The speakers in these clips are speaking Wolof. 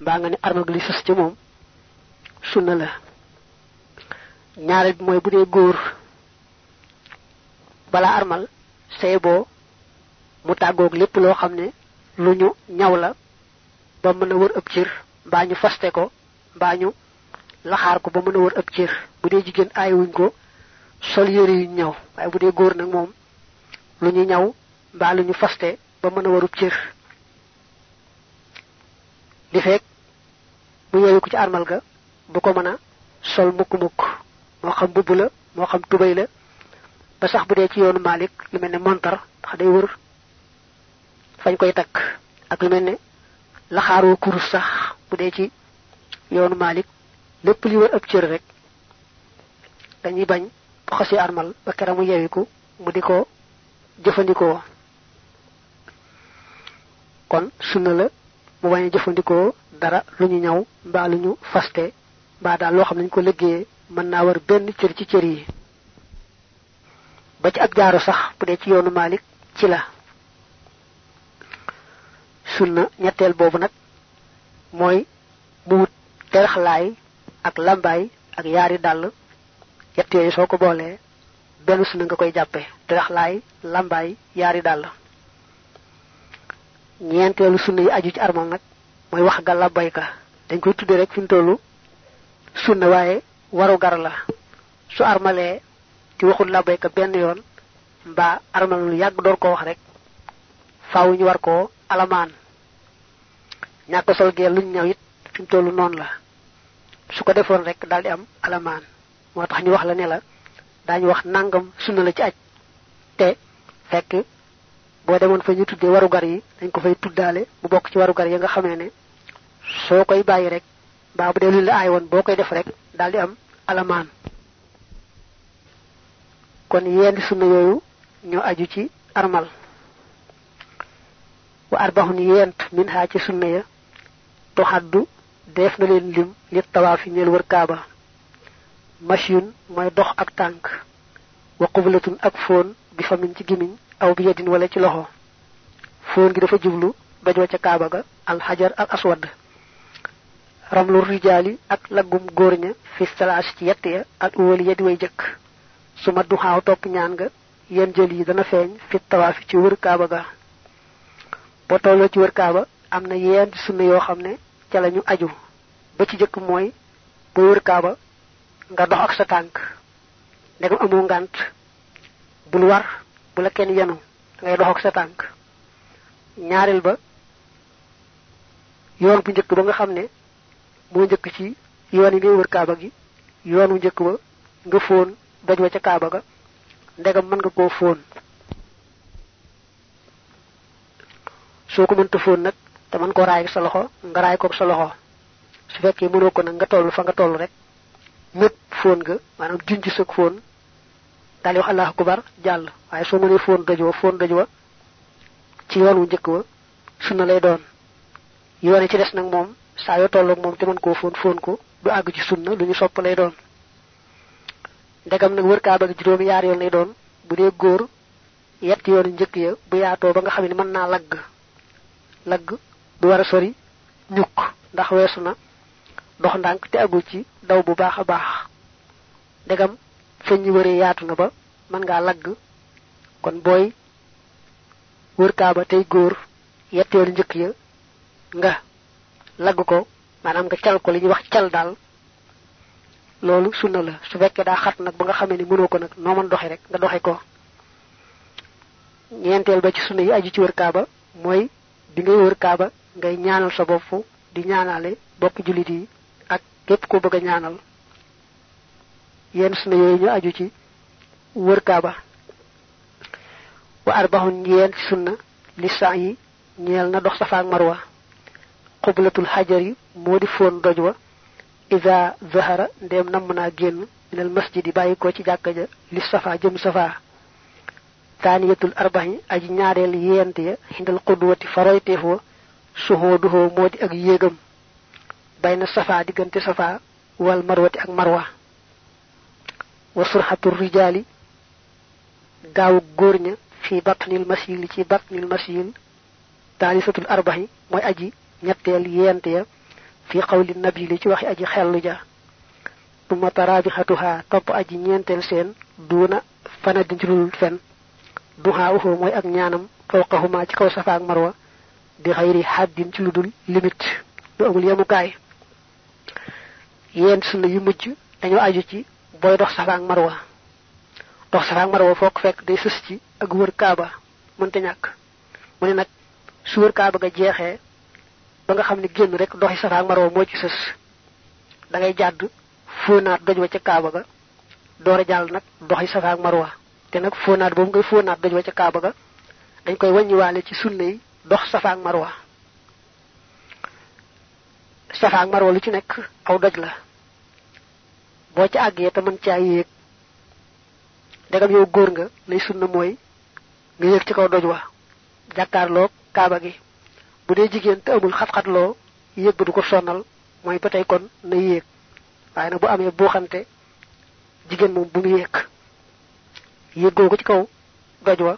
mbaa nga ne armal gi li sës ci moom sunna la. ñaareel bi mooy bu dee góor balaa armal say boo mu tàggoog lépp loo xam ne lu ñu ñaw la ba mën a wër ëpp cër mbaa ñu faste ko mbaa ñu laxaar ko ba mën a wër ëpp cër. bu dee jigéen aayuwuñ ko sol yëre yu ñaw waaye bu dee góor nag moom lu ñu ñaw mbaa lu ñu faste ba mën a warub cër. li fekk bu yeewu ko ci armal ga bu ko mën a sol mukk-mukk moo xam mbubb la moo xam tubay la ba sax bu dee ci yoonu Malik lu mel ne montar ndax day wër fañ koy takk ak lu mel ne laxaaroo kurus sax bu dee ci yoonu Malik lépp li wër ab cër rek dañuy bañ bu xasee armal ba kera mu yeewiku mu di ko jëfandikoo. kon sunna la mu bañ a jëfandikoo dara lu ñu ñaw mbaa lu ñu faste mbaa daal loo xam ne ñu ko liggéeyee mën naa war benn cër ci cër yi. ba ci ab jaaro sax bu dee ci yoonu Malik ci la. sunna ñetteel boobu nag mooy mu wut teraxlaay ak lambaay ak yaari dàll yett yooyu soo ko boolee benn sunna nga koy jàppe teraxlaay lambaay yaari dàll. ñeenteelu sunna yi aju ci armal nag mooy wax ga labbayka dañ koy tudde rek fi mu tollu sunna waaye waru gar la. su armalee ci waxul labbayka benn yoon mbaa armal lu yàgg door ko wax rek faaw ñu war koo alamaan. ñàkk sol gee luñ ñaw it fi mu tollu noonu la su ko defoon rek daal di am alamaan. moo tax ñu wax la ne la daañu wax nangam sunna la ci aj te fekk boo demoon fa ñu tuddee warugar yi dañ ko fay tuddaale mu bokk ci warugar yi nga xamee ne soo koy bàyyi rek mbaa bu dee luñ la aay woon boo koy def rek daal di am alamaan. kon yenn sunna yooyu ñoo aju ci armal. wa arbahun yent min ha ci sunna ya toxaddu def na leen lim li tawaafi ñeel wër kaaba. mashyun mooy dox ak tànk wa qublatun ak foon bi famin ci gimiñ aw bi yedin wala ci loxo. foon gi dafa jublu dojoo ca kaaba ga alxajar al aswad. ramlu rijaali ak laggum góor ña fi salaas ci yett ya al uwali ya di way jëkk. su ma duxaaw topp ñaan nga yen jël yi dana feeñ fi tawaafi ci wër kaaba ga. boo tolloo ci wër kaaba am na yenn sunna yoo xam ne ca la ñu aju. ba ci jëkk mooy boo wër kaaba nga dox ak sa tànk ndegam amoo ngànt bul war bu la kenn yenu ngay dox ak sa tànk. ñaareel ba yoon bu njëkk ba nga xam ne moo njëkk ci yoon yi ngay wër kaaba gi yoon wu njëkk ba nga fóon doj wa ca kaaba ga ndegam mën nga koo fóon. soo ko mënta fóon nag te mën koo raay ak sa loxo nga raay koog sa loxo. su fekkee mënoo ko nag nga toll fa nga toll rek ñëpp fóon nga maanaam junj sëg fóon daal di wax allahu akbar jàll. waaye soo mënee fóon doj wa ci yoon wu njëkk wa sunna lay doon. yoon yi ci des nag moom saa yoo tolloog moom te mën koo fóon ko du àgg ci sunna lu ñu sopp lay doon. ndegam nag wër kaaba gi juróomi yaar yoon lay doon bu dee góor yett yoonu njëkk ya bu yaatoo ba nga xam ne mën naa lagg du war a sori ñukk ndax weesu na dox ndànk te agul ci daw bu baax a baax. ndegam feñ ñu wëree yaatu na ba mën ngaa lagg kon booy wër kaaba tey góor yett yoonu njëkk ya nga lagg ko maanaam nga cal ko li ñuy wax cal daal loolu sunna la. su fekkee daa xat nag ba nga xamee ni mënoo ko nag noo mën doxe rek nga doxe ko. ñeenteel ba ci sunna yi aju ci wër kaaba mooy bi ngay wër kaaba ngay ñaanal sa bopp di ñaanale bokk jullit yi ak képp ko bëgg a ñaanal. yenn sunna yooyu ñu aju ci wër kaaba. wa arbahun yeen sunna li saa yi ñeel na dox safa ak marwa. qublatul xajar yi moo di foon doj wa iza zahara ndéem namm naa génn minal masjid yi bàyyi ko ci jàkka ja li safa jëm safa. taaniyatul arbahi aji ñaareel yent ya xindal qudwati faroyteef wa suhooduhoo moo di ak yéegam bayna safa diggante safa wal marwati ak marwa. wa surxatul rijaali gaawu góor ña fi batnil masil ci batnil masil taalisatul arbahi mooy aji ñetteel yent ya fi qawli nabi li ci waxi aji xellu ja tuma tarabihatuha top aji ñentel seen duna fana dinjul fen duha uhu moy ak ñaanam fawqahuma ci kaw safa ak marwa bi xayri haddin ci ludul limite do amul yamukaay yeen sunna yu mujj dañu aju ci boy dox safa ak marwa fokk fekk day sës ci ak wër kaaba mënta ñak mu ne nak su wër kaaba ga jeexee ba nga xamni genn rek doxi safa ak marwa mo ci sës da ngay jadd fonaat doj wa ca kaaba ga doora jall nak doxi safa ak marwa te nak fonaat bo ngay fonaat doj wa ca kaaba ga dañ koy wañi walé ci sunna yi dox safa ak marwa lu ci nek aw doj la bo ci àggee te mën caa yéeg dagam yow góor nga lay sunna mooy nga yéeg ci kaw doj wa jàkkaarloo kaaba gi bu dee jigéen te amul xat-xatloo yéeg ba du ko sonal mooy ba tey kon na yéeg waaye nag bu amee buuxante jigéen moom bu mu yéeg googu ci kaw doj wa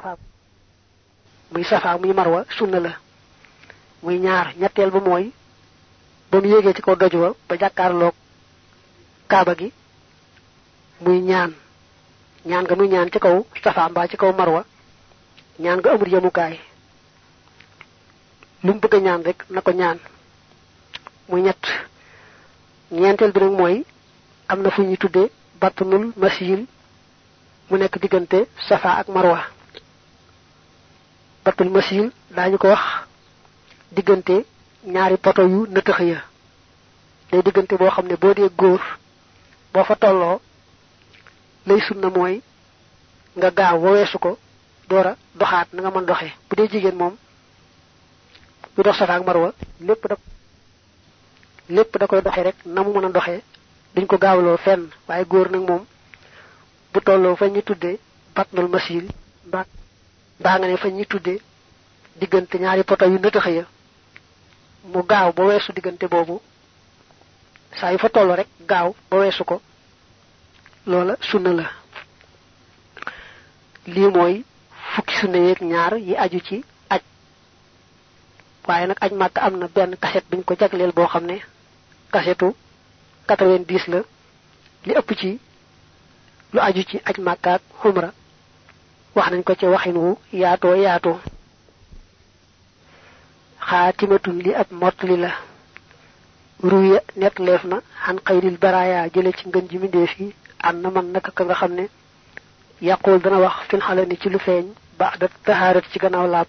muy safa muy marwa sunna la muy ñaar ñetteel ba mooy ba mu yéegee ci kaw doj wa ba jàkkaarloo kaaba gi muy ñaan nga muy ñaan ci kaw safa mbaa ci kaw marwa ñaan nga amul yemukaay lu mu bëgg ñaan rek na ko ñaan muy ñett ñeenteel bi nag mooy am na fu ñuy tuddee batnul masil mu nekk diggante safa ak marwa batnul masil daañu ko wax diggante ñaari poto yu nëtëx ya day diggante boo xam ne boo dee góor boo fa tolloo lay sunna mooy nga gaaw weesu ko doora doxaat na nga mën doxee bu dee jigéen moom bu dox safa ak marwa lépp da koy doxee rek na mu mën a doxee duñ ko gaawloo fenn waaye góor nag moom bu tolloo fa ñu tuddee batnul masil mbaa nga ne fa ñu tuddee diggante ñaari poto yu nëtëx ya mu gaaw ba weesu diggante boobu saa yu fa toll rek gaaw ba weesu ko loola sunna la lii mooy fukki sunna yeeg ñaar yi aju ci aj waaye nag aj màkk am na benn kaset biñ ko jagleel boo xam ne kasetu 90 la li ëpp ci lu aju ci aj màkk ak xumra wax nañ ko ci waxin wu yaatoo xaatimatun li ab mottali la ruya net leef na xan xayril baraya jële ci ngën ji mindeef yi an na man naka ka nga xam ne yaqul dana wax fil xalani ci lu feeñ ba'da taharat ci gannaaw laab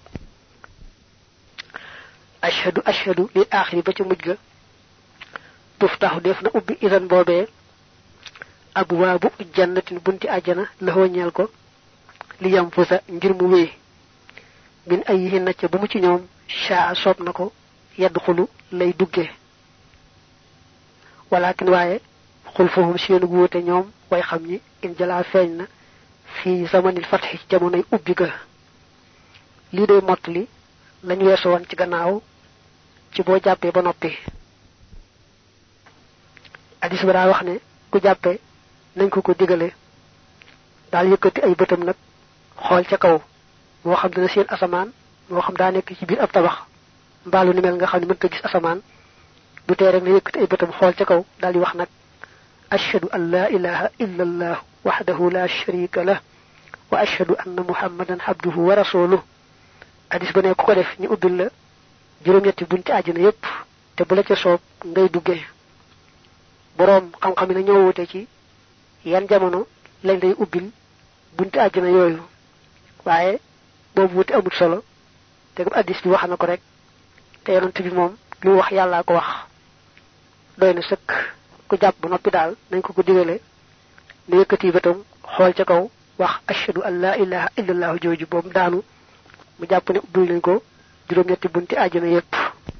ashhadu li aaxiri ba ci mujj ga tuftaxu def na ubbi idan boobee abwaabu jannatin bunti àjjana la ñeel ko li yam fusa ngir mu wéy min ay na ca bu mu ci ñoom shaa soob na ko yadxulu lay dugge walakin waaye xul fahum seenu wuute ñoom way xam ñi in jala feeñ na fi zamanil fathi jamonoy ubbi ga lii day mottali lañu weesu woon ci gannaaw ci boo jàppee ba noppi hadis ba daa wax ne ku jàppee nañ ko digale daal yëkkati ay bëtam nag xool ca kaw moo xam dina seen asamaan moo xam daa nekk ci biir ab tabax mbaalu ni mel nga xam ne mënta gis asamaan du tee rek na yëkkati ay bëtam xool ca kaw daal di wax nag ashhadu an la ilaha illa allah wahdahu la sharika lah wa ashhadu anna muhammadan abduhu wa rasuluhu hadis ba ne ku ko def ñu ubbil la juróom-ñetti bunti àjjana yépp te bu la ca soob ngay duggee boroom xam-xam yi na ñoo wute ci yan jamono lañ lay ubbil bunti àjjana yooyu waaye boobu wuti amul solo te gam hadis bi wax na ko rek te yonent bi moom lu wax yàllaa ko wax doy na sëkk ku jàpp ba noppi daal nañ ko digale ne yëkkati bëtam xool ca kaw wax ashhadu an la ilaha illallah jooju boobu daanu mu jàpp ne ubbil nañ ko juróom-ñetti bunti àjjana yépp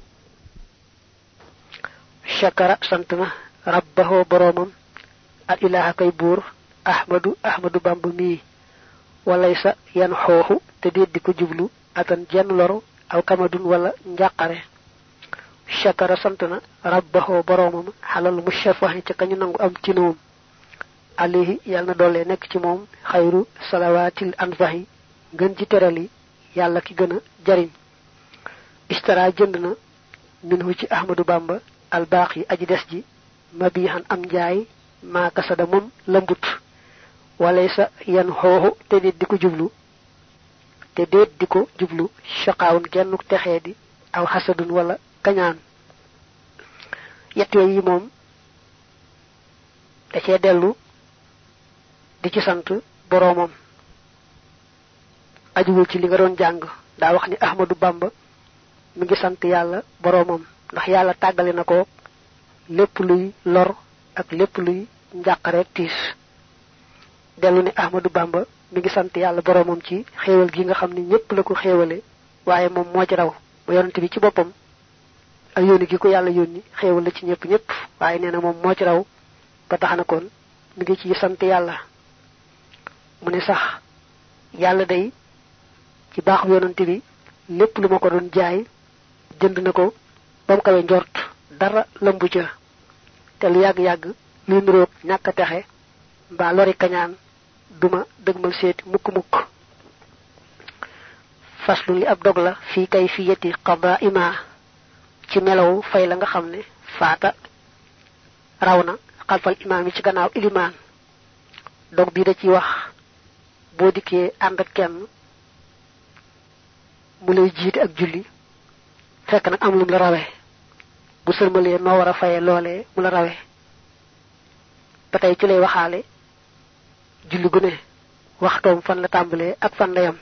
shakara sant na rabbahu boroomam al ilaha kay buur ahmadu bamba mii walaysa yan xooxu te déet di ko jublu atan jenn loro aw kamadun wala njàqare shakara sant na rabbahu boroomam xalal mushafahi ca kañu nangu am ci noom alayhi yàlla na doole nekk ci moom xayru salawaatil anfahi ngën ci terali yàlla ki gën a jariñ istara jënd na minhu ci ahmadu bamba al baqi aji des ji mabihan am njaay ma kasada mom lambut walaysa yan hoho te dit diko jublu te det diko jublu shaqawun gennu texé di aw hasadun wala kañaan yett yi mom da ci delu di ci sant boromam ajuwul ci li nga doon jang da wax ni Ahmadu Bamba mi ngi sant yalla boromam ndax yalla tagalé nako lepp luy lor ak lepp luy njaqare tiis delu ni Ahmadu Bamba mi ngi sant yalla boromam ci xéewal gi nga xamni ñepp la ko xéewale waye mom mo ci raw bu yonent bi ci bopam ak yoni gi ko yalla yoni xéewal la ci ñepp waye neena mom mo ci raw ba taxana kon mi ngi ci sant yalla mu ne sax yalla day ci baax yonent bi lepp lu mako doon jaay jënd nako bam kawé njort dara lambu ca té lu yag yag lu ndurok ñaka taxé ba lori kañaan duma deugmal séti mukk mukk faslu li ab dog la fi kayfiyati qada'ima ci melaw fay la nga xamné faata rawna xalfal imam ci gannaaw iliman dog bi da ci wax bo diké and ak kenn mu lay jité ak julli fekk nak am lu la rawé bu sërmalé no wara fayé lolé mu la rawé patay ci lay waxalé julli gu ne waxtom fan la tambalé ak fan la yam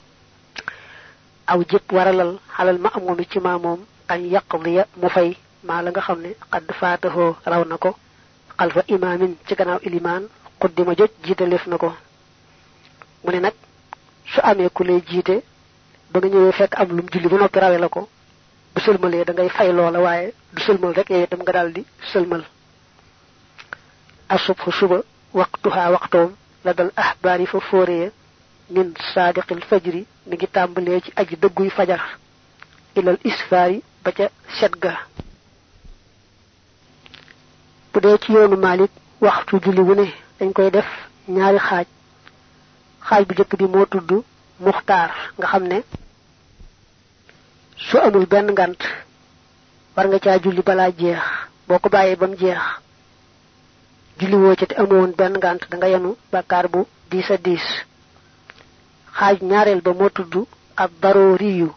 aw jëpp waralal xalal ma amomi ci ma mom an yaqdiya mu fay ma la nga xamné qad fatahu raw nako xalfa imamin ci gannaaw iliman qaddima joj jitalef nako mu ne nak su amé ku lay jité ba nga ñëwé fekk am lu julli bu noppi rawé lako bu sëlmalé da ngay fay loola waaye du sëlmal rek yow itam nga daldi sëlmal asubhu suba waqtuha waqtum ladal ahbari fa foré min sadiqil fajri mi ngi tambalé ci aji degguy fajar ilal isfari ba ca setga bu dé ci yoonu malik waxtu julli wu ne dañ koy def ñaari xaaj bu jëk bi mo tuddu muxtar nga xamné su amul ben ngant war nga ca julli bala jeex boko bayé bam jeex julli wo ci té amone ben ngant da nga yanu bakkar bu 10 xaaj ñaarel ba mo tuddu ab daruriyu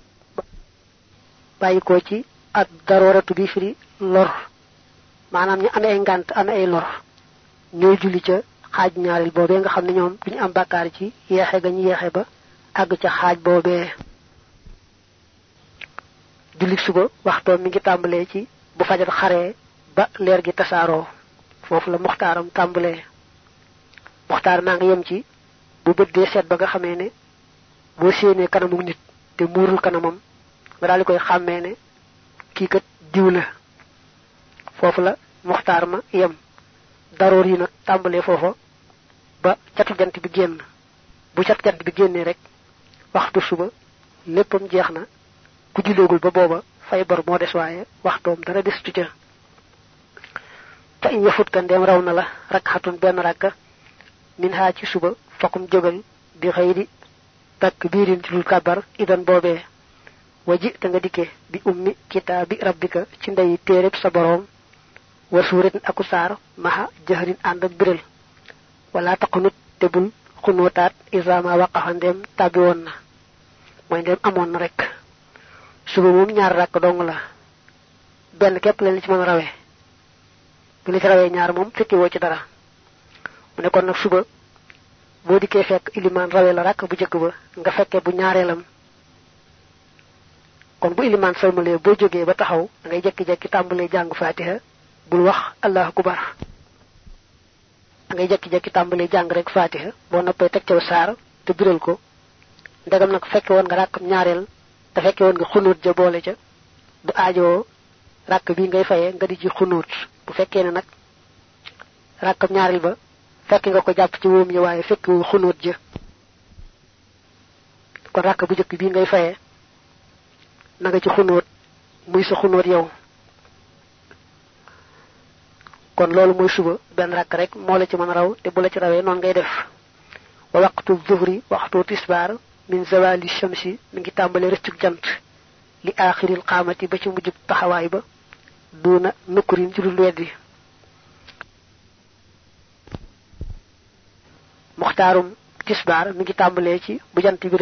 bayiko ci ab daruratu bi firi lor manam ñu amé ngant amé ay lor ñoy julli ca xaaj ñaarel bobé nga xamni ñoom duñu am bakkar ci yexé ga ñu yexé ba ag ca xaaj bobé julli suba waxto mi ngi tambalé ci bu fajar xaré ba leer gi tassaro fofu la muxtaram tambalé muxtar ma nga yëm ci bu bëddé sét ba nga xamé né bo séné kanamu nit té murul kanamam nga dal koy xamé né ki kat diw la fofu la muxtar ma yëm darori nak tambalé fofu ba ciatu jant bi génn bu ciatu jant bi génné rek waxtu suba leppam jeexna ku jullegul ba boba fay bor mo dess waye waxtom dara destu ca fa in yafut kan dem rawna la rakhatun ben rakka min ha ci suba fakum jogal bi xeyri takbirin ci lul kabar idan bobé waji ta nga diké bi ummi kitabi rabbika ci ndey térép sa borom wa suratin akusar maha jahrin and ak birel wala taqnut tebul xunotat izama waqaha ndem tabi won na moy ndem amon rek suba mom ñaar rak dong la ben kep leen ci mëna rawé bu li ci rawé ñaar mom fekki wo ci dara mu ne kon nak suba bo diké fekk iliman rawé la rak bu jëk ba nga fekke bu ñaarelam kon bu iliman salmalé bo joggé ba taxaw ngay jekki-jekki tambalé jang fatiha bul wax allahu akbar ngay jekki-jekki tambalé jang rek fatiha bo noppé tek ci sar te biral ko ndagam nak fekke won nga rak ñaarel te fekke won nga xunut ja boole ca du aajo rak bi ngay fayé nga di ci xunut bu fekke ne nak rakam ñaarel ba fekk nga ko japp ci woom yi waye fekk wu xunut ja ko rak bu jëk bi ngay fayé na nga ci xunut muy sa xunut yow kon lolu moy suba ben rak rek mo la ci mëna raw te bu la ci rawé non ngay def wa waqtu dhuhri waqtu tisbar min zawali shamsi mi ngi tambalé rëccuk jant li akhiril qamati ba ci mujjub taxaway ba duna nukurin ci dul weddi muxtarum tisbar mi ngi tambalé ci bu jant bi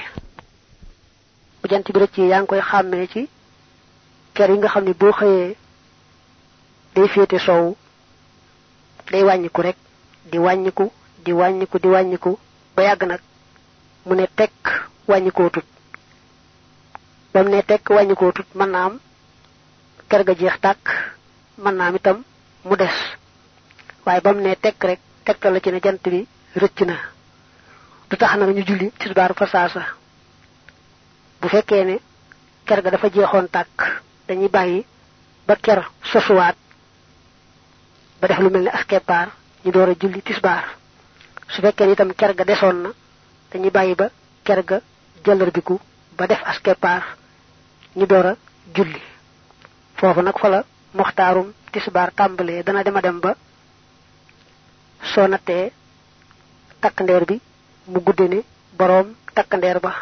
rëccé yang koy xamé ci kër yi nga xamni bo xeyé day fété sow day wañiku rek di wañiku ba yag nak mu ne tek wañiko tut bam ne tek wañiko tut man naam kër ga jeex tak man naam itam mu dess waye bam ne tek rek tek la ci ne jant bi rëcc na du tax na ñu julli tisbar fa saasa bu fekkee ne kër ga dafa jeexoon tak dañuy bayyi ba kër sosuwaat ba def lu melni askepar ñu doora julli tisbar su fekkee itam kër ga desoon na dañuy bayyi ba kër ga jëlërbiku ba def askepar ñu doora julli fofu nak fa la muxtarum tisbar tambalé dana dem ba so naté tak ndeer bi mu guddé ne borom tak ndeer ba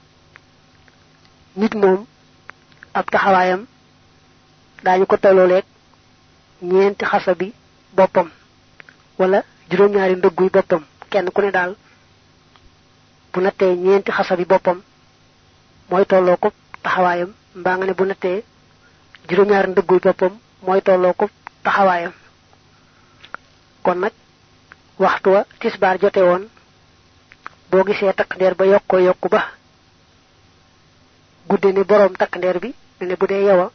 nit mom ab taxawayam dañu ko tololek ñeenti xasabi bopam wala juroom ñaari ndëgguy bopam kenn ku ne dal bu naté ñeenti xasabi bopam moy tolo ko taxawayam mba nga ne bu naté juroom ñaari ndëgguy bopam moy tolo ko taxawayam kon nak waxtu wa tisbar joté won bo gisé tak ndeer ba yokku ba guddé ni borom tak ndeer bi né bu dé yawa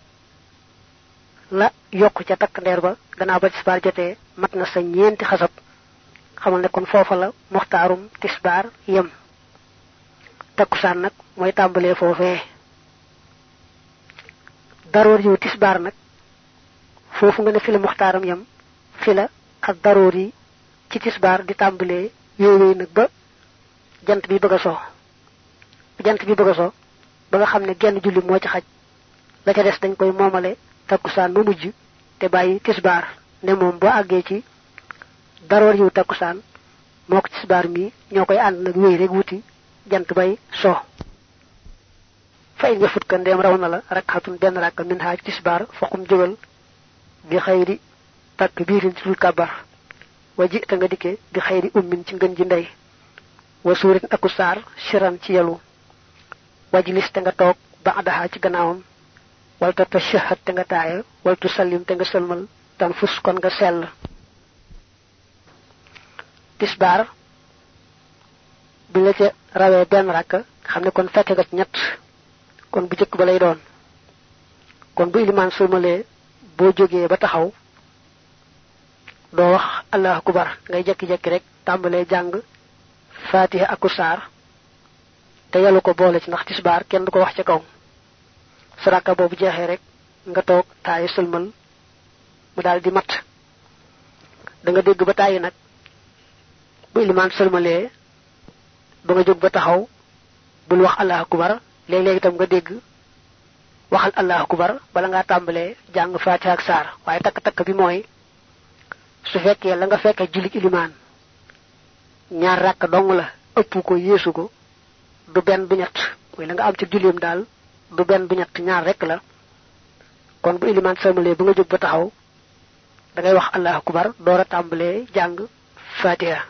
la yokku ca tak ndeer ba gannaaw ba tisbar joté mat na sa ñeenti xasab xamal ne kon fofa la muxtarum tisbar yam takusan nak moy tambalé fofé daror yu tisbar nak fofu nga ne fi la muxtaram yam fi la ak darori ci tisbar di tambalé yoy nak ba jant bi bëgg so ba nga xamne genn julli mo ci xaj la ca dess dañ koy momalé takusan mu mujj te bayyi tisbar ne mom bo aggé ci daror yu takusan mok tisbar mi ñokoy and nak wéy rek wuti jant bay so fay nga fut kan dem rawna la rakatun ben rak min ha tisbar faqum jogal bi khayri takbirin ci kabar waji ta nga diké bi khayri ummin ci ngeen ji ndey wa surat akusar shiran ci yalu wajlis te nga tok ba'daha ci gannaawam wal ta tashahhad te nga taaya wal tusallim te nga selmal tan fus kon nga sel tisbar bi la ca rawé ben rak xamne kon fekk nga ñett kon bu jëk ba lay doon kon bu iliman sulmalé bo joggé ba taxaw do wax allahu akbar ngay jekki-jekki rek tambalé jang fatiha akusar te yalu ko bolé ci ndax tisbar kenn du ko wax ci kaw saraka bobu jexé rek nga tok tay sulmal mu daldi mat da nga dégg ba tay nak bu iliman sulmalé ba nga jog ba taxaw bul wax allahu akbar leg leg tam nga dégg waxal allahu akbar bala nga tambalé jang fatiha ak sar waye tak tak bi moy su fekkee la nga fekke julik iliman ñaar rak dong la ëpp ko yeesu ko du ben bu ñett way la nga am ci julim dal du ben bu ñett ñaar rek la kon bu iliman samale bu nga jog ba taxaw da ngay wax allahu akbar doora tambalé jang fatiha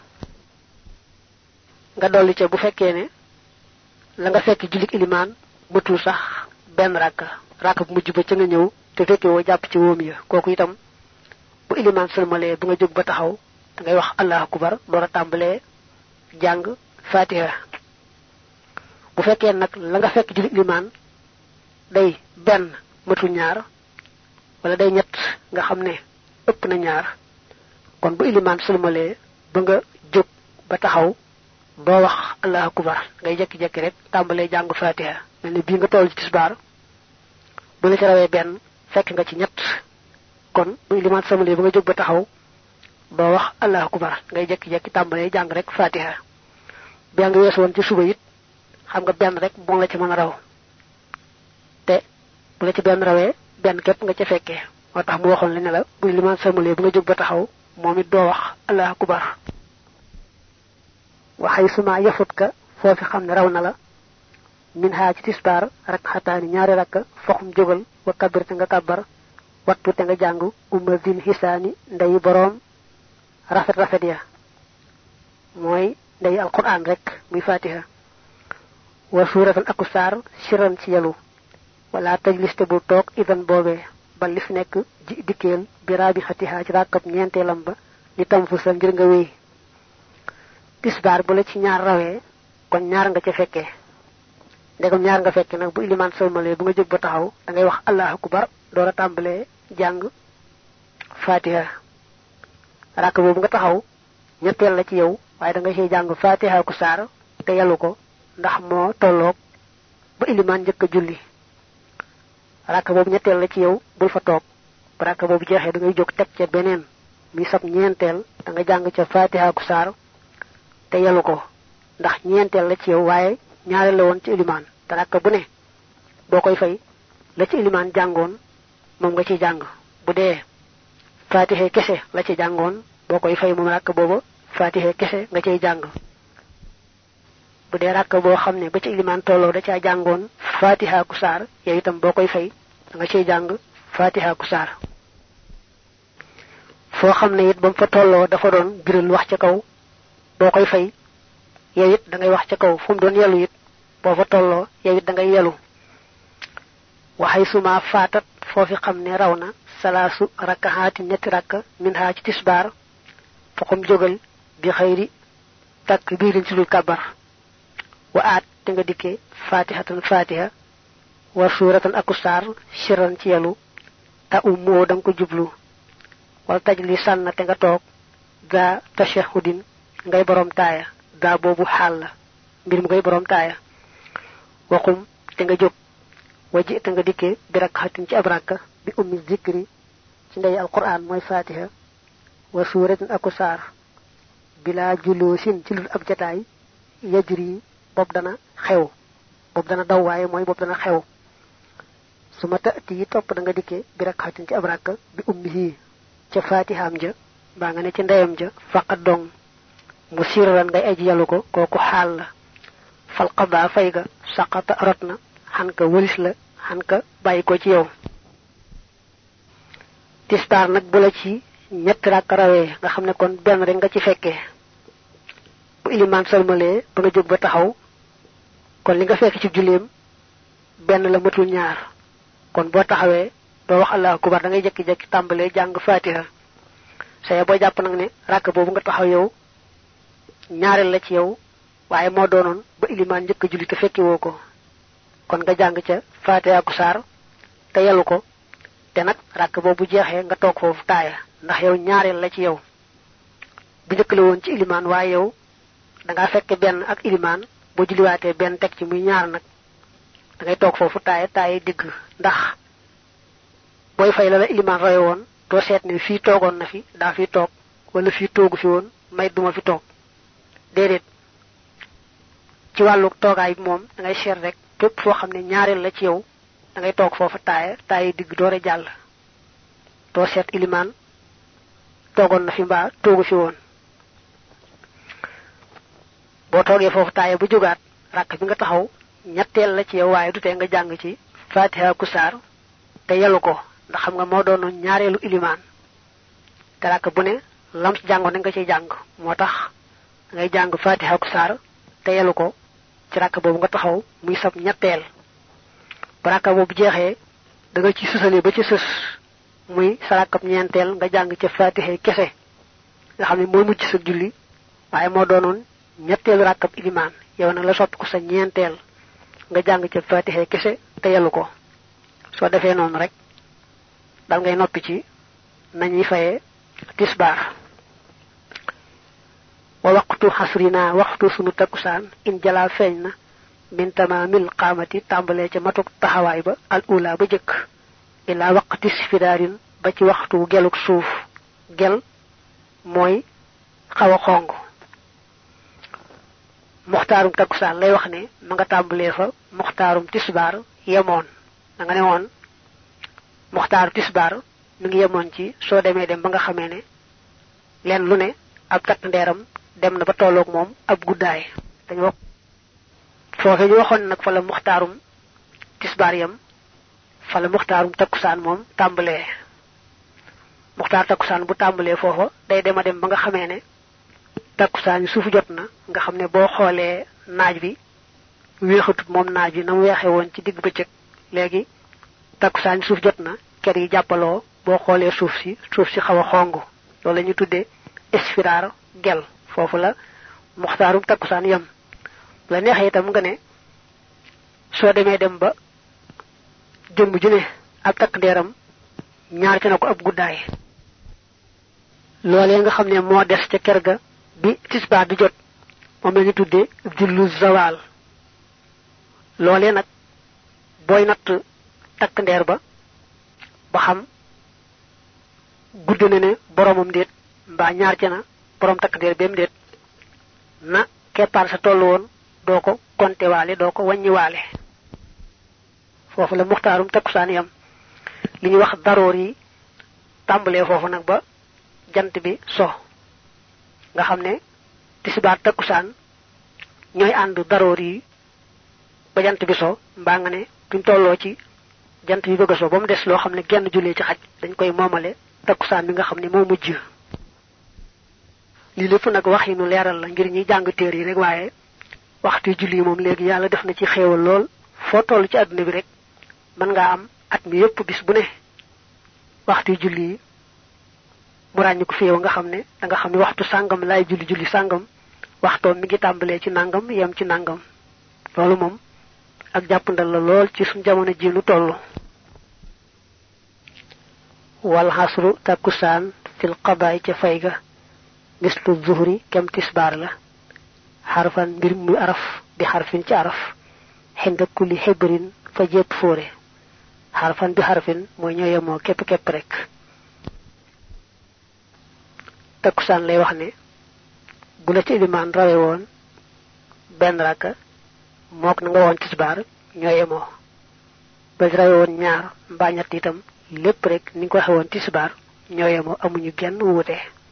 nga dolli ci bu fekkee ne la nga fekk julik iliman mutul sax ben rak bu mujj ba ci nga ñew te fekke wo japp ci woom ya koku itam bu iliman salmalé bu nga jog ba taxaw da ngay wax allahu akbar doora tambalé jang fatiha bu fekkee nak la nga fekk julik iliman day ben matu ñaar wala day ñett nga xamné ëpp na ñaar kon bu iliman salmalé ba nga jog ba taxaw do wax allahu akbar ngay jekki-jekki rek tambalé jang fatiha melni bi nga toll ci tisbar bu la ci rawé ben fekk nga ci ñett kon bu iliman samale ba nga jog ba taxaw do wax allahu akbar ngay jekki-jekki tambalé jang rek fatiha bi nga wess won ci suba yit xam nga ben rek bo la ci mëna raw te bu la ci ben rawé ben kep nga ci fekke motax mu waxon li ne la bu iliman samale ba nga jog ba taxaw momit do wax allahu akbar wa haysuma yafutka fofi xamne raw na la min ha ci tisbar rak'atan ñaari rak foxum jogal wa kabir nga kabar wattu te nga jàng umma zil hisaani nday boroom rafet rafet ya mooy nday alquran rek muy fatiha wa suratan aku saar siran ci yalu wala tajlis te bu toog idan boobee ba li fi nekk ji dikkeel bi raabi xatiha ci rakkab ñeenteelam ba li tam fu sa ngir nga wéy tisbaar bu la ci ñaar rawee kon ñaar nga ca fekkee ndegam ñaar nga fekke nag bu iliman sëlmalee bu nga jóg ba taxaw da ngay wax allahu akbar door a tàmbalee jàng fatiha rakk boobu nga taxaw ñetteel la ci yow waaye da nga ciy jàng fatiha ku saar te yalu ko ndax moo tolloog ba iliman njëkk a julli rakk boobu ñetteel la ci yow bul fa toog ba rakk boobu jeexee da ngay jóg teg ca beneen mi sab ñeenteel da nga jàng ca fatiha ku saar te yalu ko ndax ñeenteel la ci yow waaye ñaareel la woon ci iliman te rakk bu ne boo koy fay la ci iliman jàngoon moom nga ciy jàng bu dee fatiha kese la ci jàngoon boo koy fay moom rakk booba fatiha kese nga ciy jàng bu dee rakk boo xam ne ba ci iliman tolloo da caa jàngoon fatiha ku saar yow itam boo koy fay da nga ciy jàng fatiha ku saar foo xam ne it ba mu fa tolloo dafa doon biral wax ca kaw boo koy fay yow it da ngay wax ca kaw fu mu doon yelu it boo fa tolloo yow it da ngay yelu waxay suma faatat foofi xam ne raw na salaasu rakkahaati ñetti rakka min haa ci tisbaar foxum jógal bi xëyri takk biirin ci dul kabar wa aat te nga dikkee fatihatan fatiha wa suuratan aku saar siran ci yelu ta ummoo da nga ko jublu wala taj li sànn te nga toog gaa tashahudin ngay borom taaya gaa boobu xaal la mbir mu ngay borom taaya waxum te nga jóg waji te nga dikkee bi rakkatin ci ab rakka bi ummi zikri ci ndey alquran mooy fatiha wa suuratin aku saar bila juloosin ci lul ab jataay yajri bopp dana xew bopp dana daw waaye mooy bopp dana xew su ma taati yi topp da nga dikkee bi rakkatin ci ab rakka bi ummihi ca fatihaam ja baa nga ne ci ndeyam ja faqat dong mu sirran ngay aji yalu ko kooku xaal la fal qada fay ga saqata rot na xan ka wëlis la xan ka bàyyi ko ci yow tisbaar nag bu la ci ñetti rakk rawee nga xam ne kon benn rek nga ci fekkee bu iliman salmalee ba nga jóg ba taxaw kon li nga fekk ci julleem benn la matul ñaar kon boo taxawee doo wax allahu akbar da ngay jekki-jekki tàmbalee jàng fatiha saye boo jàpp nag ne rakk boobu nga taxaw yow ñaareel la ci yow waaye moo doonoon ba iliman njëkk a julli te fekki woo ko kon nga jàng ca fatiha ku saar te yelu ko te nag rakk boobu jeexee nga toog foofu taaya ndax yow ñaareel la ci yow bu njëkk la woon ci iliman waaye yow da ngaa fekke benn ak iliman boo julliwaatee benn teg ci muy ñaar nag da ngay toog foofu taaya digg ndax booy fay la iliman roye woon doo seet ne fii toogoon na fi daa fi toog wala fii toogu fi woon may duma fi toog déedéet ci wàllu toogaay bi moom da ngay seet rek fépp foo xam ne ñaareel la ci yow da ngay toog foofu taaya digg doore jàll doo seet iliman toogoon na fi mbaa toogu fi woon boo toogee foofu taaya bu jógaat rakk bi nga taxaw ñetteel la ci yow waaye du tee nga jàng ci fatiha ku saar te yelu ko ndax xam nga moo doonoon ñaareelu iliman te rakk bu ne lam ci jàngoon da nga ciy jàng moo tax ngay jàng fatiha ku saar te yelu ko ci rakk boobu nga taxaw muy sab ñetteel ba rakk boobu jeexee da nga ci sësale ba ci sës muy sa rakkab ñeenteel nga jàng ca fatiha kese nga xam ne mooy mujj sa julli waaye moo doonoon ñetteelu rakkab iliman yow nag la soppi ko sa ñeenteel nga jàng ca fatiha kese te yelu ko soo defee noonu rek dal ngay noppi ci nañuy fayee tisbaar wa waqtu xasrina waxtu sunu takkusaan in jalaa feeñ na min tamaamil qaamati tàmbalee ca matuk taxawaay ba al ula ba jëkk ilaa waqti sfidaarin ba ci waxtu geluk suuf gel mooy xaw a xong muxtaarum takkusaan lay wax ne ma nga tàmbalee fa muxtaarum tisbaar yemoon da nga ne woon muxtaaru tisbaar mi ngi yemoon ci soo demee dem ba nga xamee ne leen lu ne ab takk ndeeram dem na ba tolloog moom ab guddaay dañu wax foofe ñu waxoon nag fa la muxtaarum tisbaar yam fa la muxtaarum takkusaan moom tàmbalee muxtaar takkusaan bu tàmbalee foofa day dem ba nga xamee ne takkusaan yi suufu jot na nga xam ne boo xoolee naaj bi weexatut moom naaj bi na mu weexee woon ci digg bëccëg léegi takkusaan suuf jot na ker yi jàppaloo boo xoolee suuf si xaw a xong loolu la ñu tuddee isfiraar gel foofu la muxtaarum takkusaan yam la neexee itam nga ne soo demee dem ba jëmm ju ne ak takk ndeeram ñaar ci na ko ab guddaay loolee nga xam ne moo des ca ker ga bi tisbaar di jot moom la ñu tuddee jullu zawal loolee nag booy natt takk ndeer ba xam gudd na ne boromam déet mbaa ñaar ci na borom takk ndeer bem déet na keppaar sa tollu woon doo ko konte waale doo ko wàññi waale foofu la muxtaarum takkusaan yam li ñuy wax daroor yi tàmbalee foofu nag ba jant bi so nga xam ne tisbaar takkusaan ñooy ànd daroor yi ba jant bi so mbaa nga ne duñ tolloo ci jant bi bëgg a so ba mu des loo xam ne genn jullee ci xaj dañ koy moomale takkusaan bi nga xam ne moo mujj lii lépp nag wax yi nu leeral la ngir ñuy jàng téer yi rek waaye waxtu julli moom léegi yàlla def na ci xéewal lool foo toll ci àdduna bi rek mën ngaa am at mi yépp bis bu ne waxtu julli yi mu ràññi ko féew nga xam ne da nga xam ne waxtu sàngam laay julli sàngam waxtoom mi ngi tàmbalee ci nàngam yem ci nàngam loolu moom ak jàppandal la lool ci suñ jamono ji nu toll wal hasru takkusaan fil qabaay ca fay ga mislu zuhri kem tisbaar la xarfan mbir muy araf bi xarfin ci araf xinda kulli xibrin fa jépp fóore xarfan bi xarfin mooy ñoo yemoo képp rek takkusaan lay wax ne bu la ci ilimaan rawe woon benn rakka mook na nga woon tisbaar ñoo yemoo ba rawe woon ñaar mbaa ñett itam lépp rek ni nga ko waxe woon tisbaar ñoo yemoo amuñu genn wuute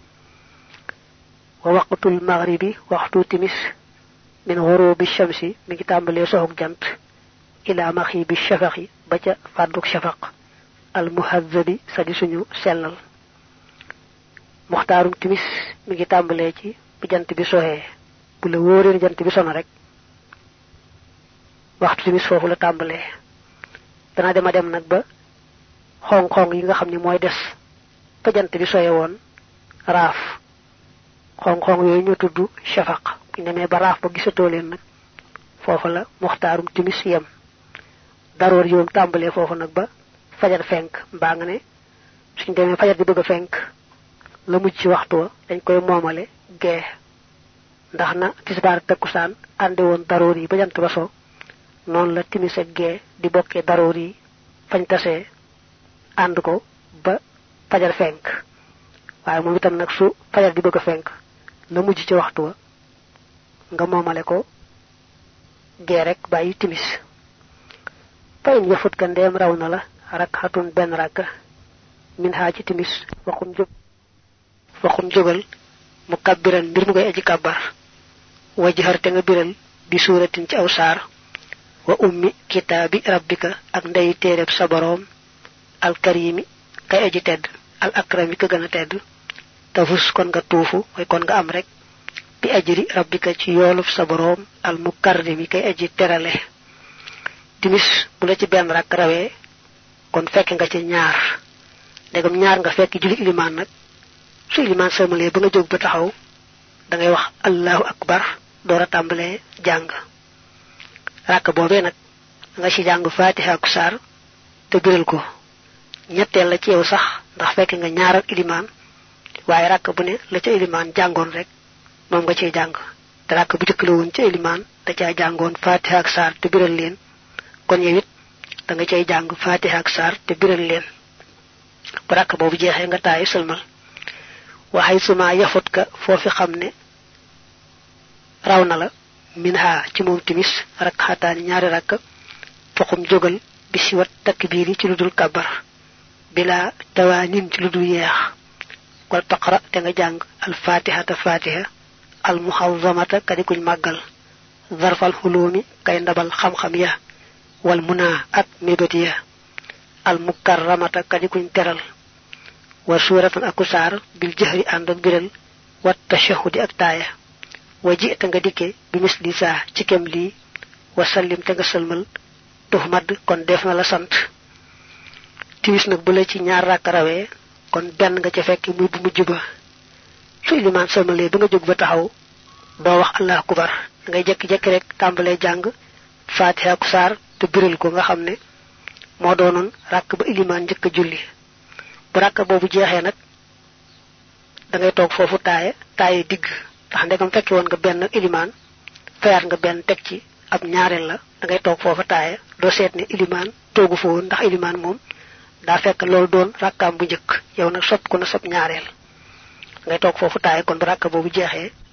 wa waqtul maghribi waxtu timis min ghurubi shamsi mi ngi tàmbalee soxuk jant ila maghibi shafaqi ba ca fàdduk shafaq al muhazzabi sa di suñu sellal muxtaarum timis mi ngi tàmbalee ci bi jant bi soxee bu la wóoree jant bi sono rek waxtu timis foofu la tàmbalee dana dem nag ba xong-xong yi nga xam ne mooy des fa jant bi soye woon raaf xong-xong yooyu ñu tudd shafaq bu ñu demee ba raaf ba gisatoo leen nag foofu la muxtaarum timis yem daroor yoom tàmbalee foofu nag ba fajar fenk mbaa nga ne suñ demee fajar di bëgg a fenk la mujj ci waxtu wa dañ koy moomale gee ndax na tisbaar takkusaan ànde woon daroor yi ba jant ba so noonu la timis ak gee di bokkee daroor yi fañ tasee ànd ko ba fajar fenk waaye moom itam nag su fajar di bëgg a fenk la mujj ci waxtu wa nga moomale ko gee rek bàyyi timis fayin yafut ka ndeem raw na la rakxatun benn rakka min haa ci timis waxum jógal mu kabbiran mbir mu koy aji kàbbar wajhar te nga biral bi suuratin ci aw saar wa ummi kitaabi rabbika ak ndey téereb sa boroom al karimi kay aji tedd al akrami ka gën a tedd tafus kon nga tuufu mooy kon nga am rek bi ajri rabbika ci yoolub sa boroom al mukarrimi kay aji terale timis bu la ci benn rakk rawee kon fekk nga ci ñaar ndegam ñaar nga fekk julli ilimaan nag su ilimaan sëlmalee ba nga jóg ba taxaw da ngay wax allahu akbar door a tàmbalee jàng rakk boobee nag nga ci jàng fatiha ak saar te biral ko ñetteel la ci yow sax ndax fekk nga ñaaral ilimaan waaye rakk bu ne la ca ilimaan jàngoon rek moom nga cee jàng te rakk bu jëkk la woon ca ilimaan da caa jàngoon fatiha ak saar te biral leen kon yow it da nga cay jàng fatiha ak saar te biral leen bu rakk boobu jeexee nga taayu sëlmal waxay suma yafut ka foofi xam ne raw na la min ha ci moom timis rakk xataani ñaari rakk foxum jógal bi si wat takbiir yi ci lu dul kabar bila tawaanin ci lu dul yeex wal taqra te nga jàng al fatihata fatiha al muhazzamata kadi kuñ màggal zarfal xuloomi kay ndabal xam-xam ya wal muna ak mébét ya al mukarramata kadi kuñ teral wa suratan akusar bil jahri and ak biral wat tashahudi ak taaya waji ta nga dikke bi misli sa ci kem li wa sallim te nga salmal tuhmad kon def na la sant tiwis nak bu la ci ñaar rak rawé kon ben nga ci fekk muy bu mujj ba su iliman salmalé ba nga jog ba taxaw do wax allah akbar ngay jek jek rek tambalé jang fatiha ku sar te biral ko nga xamné mo doonon rak ba iliman jek julli bu rak bobu jexé nak da ngay tok fofu taayé digg tax ndegam fekki won nga ben iliman fayat nga ben tek ci ab ñaarel la da ngay tok fofu taayé do sét né iliman togu fo ndax iliman mom da fekk lool doon rakam bu ñëk yow nak sop ko na sop ñaarel ngay tok fofu taayé kon bu rak bobu jexé